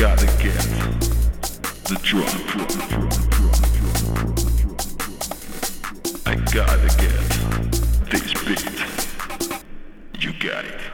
gotta get the drop. I gotta get this beat. You got it.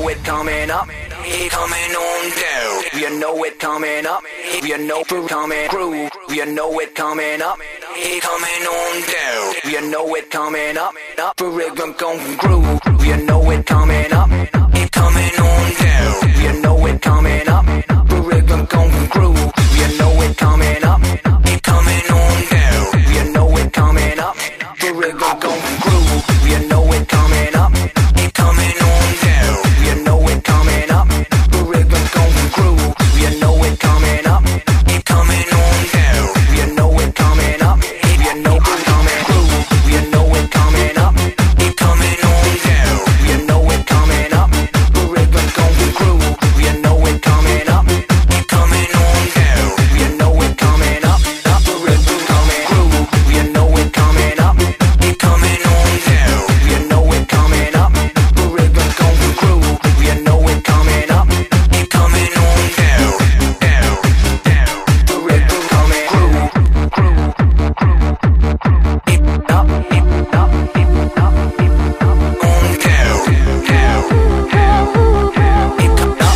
know it coming up, it coming on down. If you know it coming up, if you know it coming groove, if you know it coming up, it coming on down. If you know it coming up the rhythm gon' groove. If you know it coming up, it coming on down. If you know it coming up, the rhythm gon' groove. If you know it coming up, it coming on down. If you know it coming up, the rhythm gon' groove. If you know it coming up, it coming on down. If you know it coming up, the rhythm gon' groove. If you know it coming up, it coming on down. If you know it coming up, if you know it coming groove. If you know it coming up, it coming on down. If you know it coming up, the rhythm gon' groove. If you know it coming up, it coming on down. If you know it coming up, the rhythm coming groove. If you know it coming up, it coming on down. If you know it coming up, the rhythm gon' groove. If you know it coming up, it coming on down, down, down. The rhythm coming groove, groove, groove. It up, it up, it up, it up, on down, down, down. It up, up,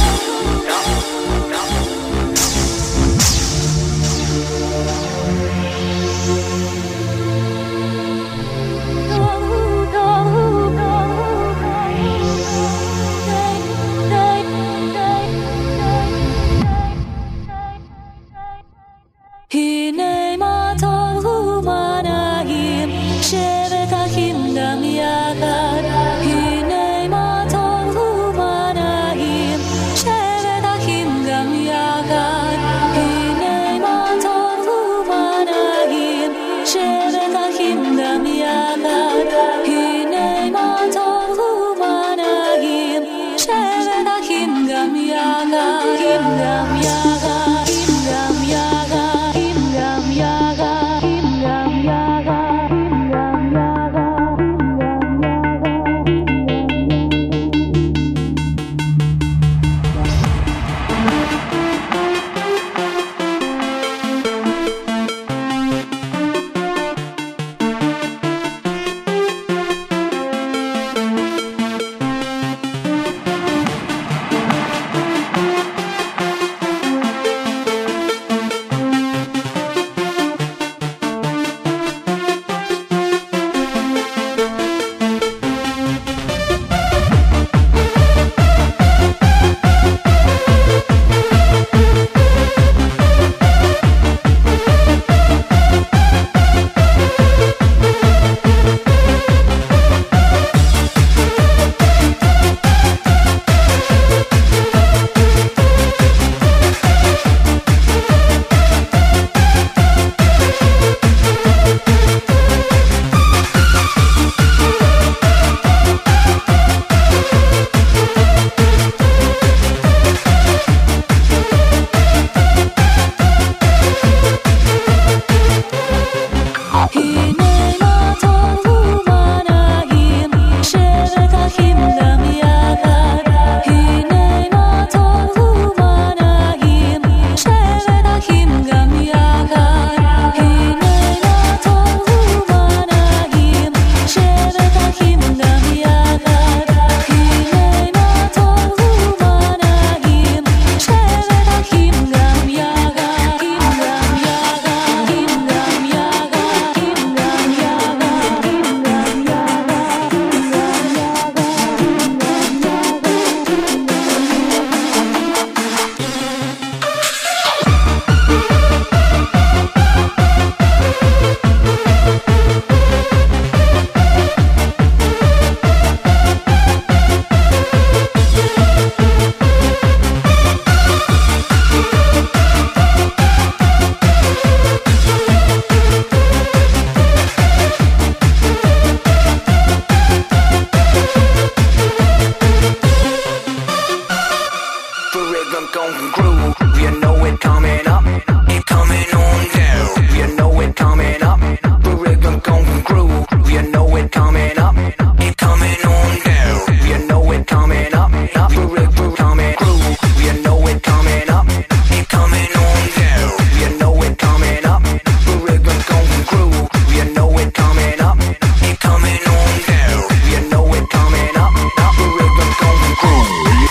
הנה מה טוב ומה נעים, שבת אחים גם יחד. הנה מה טוב ומה נעים, שבת אחים גם יחד. הנה מה טוב ומה נעים, שבת אחים גם יחד. הנה מה טוב ומה נעים, שבת אחים גם יחד. גם יחד, גם יחד. groove.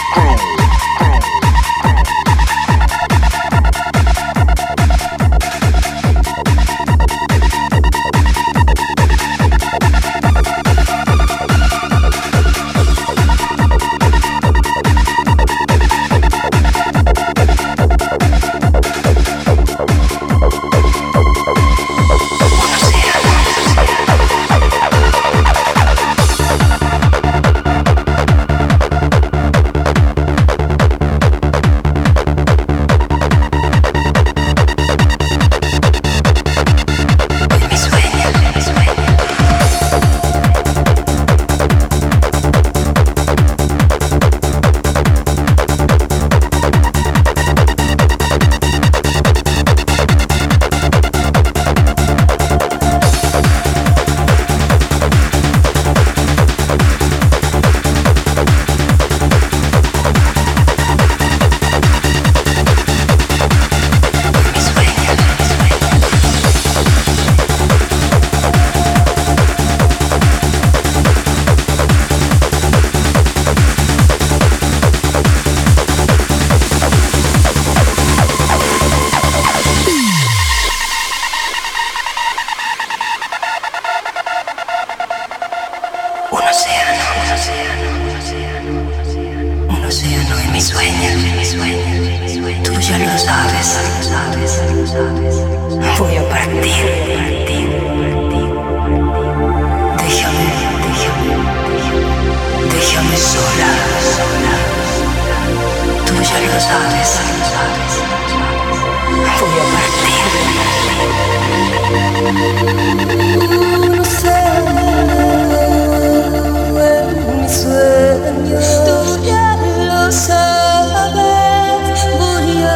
océano de mis sueños. Tú ya lo sabes. Voy a partir. Déjame sola. Tú ya lo sabes. Voy a partir. Un océano en mis sueños. Tú ya lo sabes. Voy a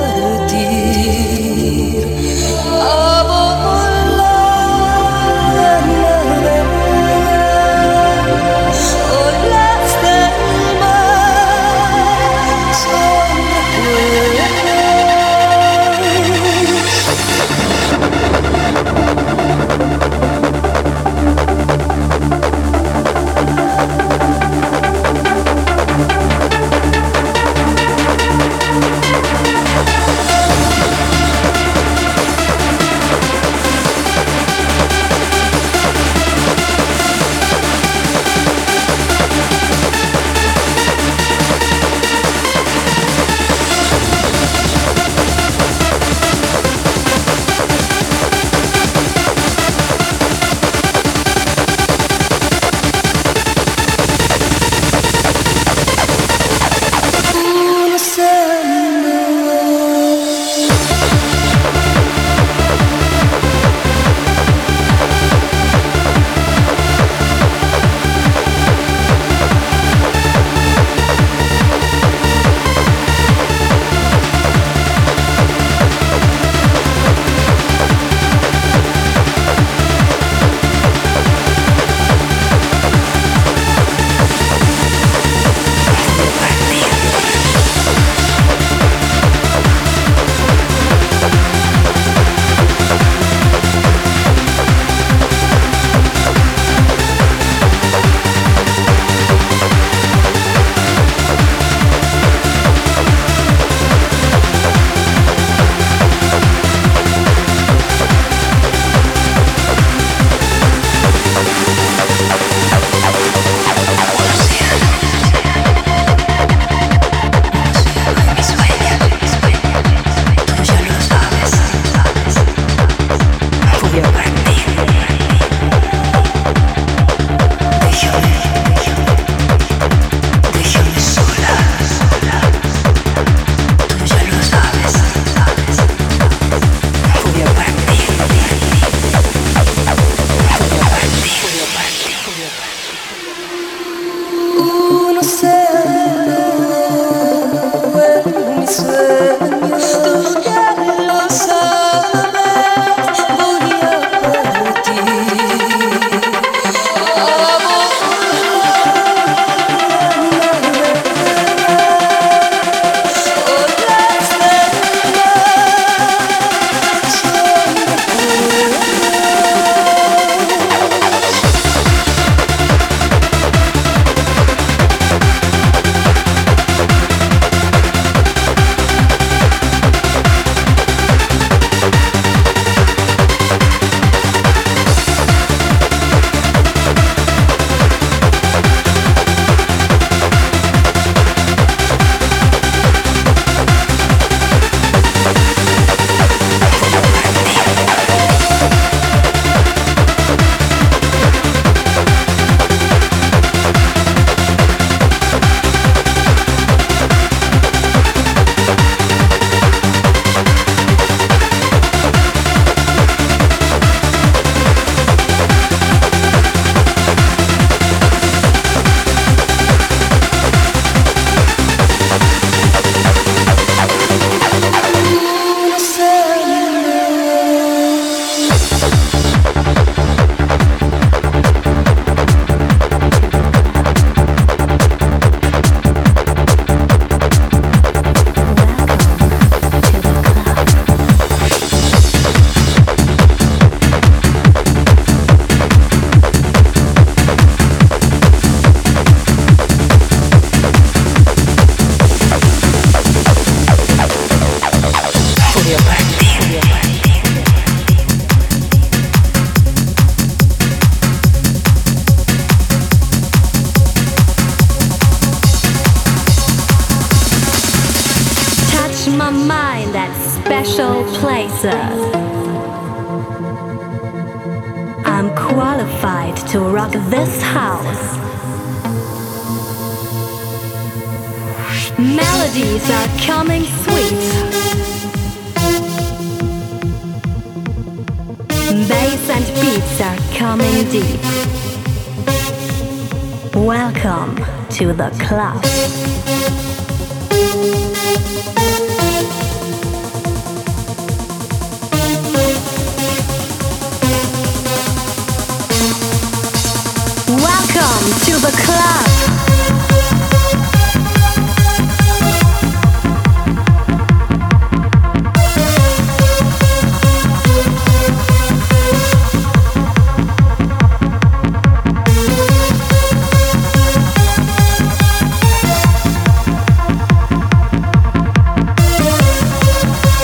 partir. A volar. Olas del mar son recuerdos. change my mind at special places. I'm qualified to rock this house. Melodies are coming sweet. Bass and beats are coming deep. Welcome to the club. Welcome to the club.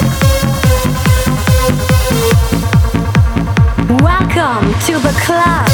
Welcome to the club.